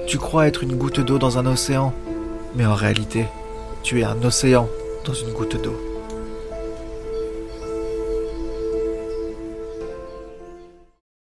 Tu crois être une goutte d'eau dans un océan, mais en réalité, tu es un océan dans une goutte d'eau.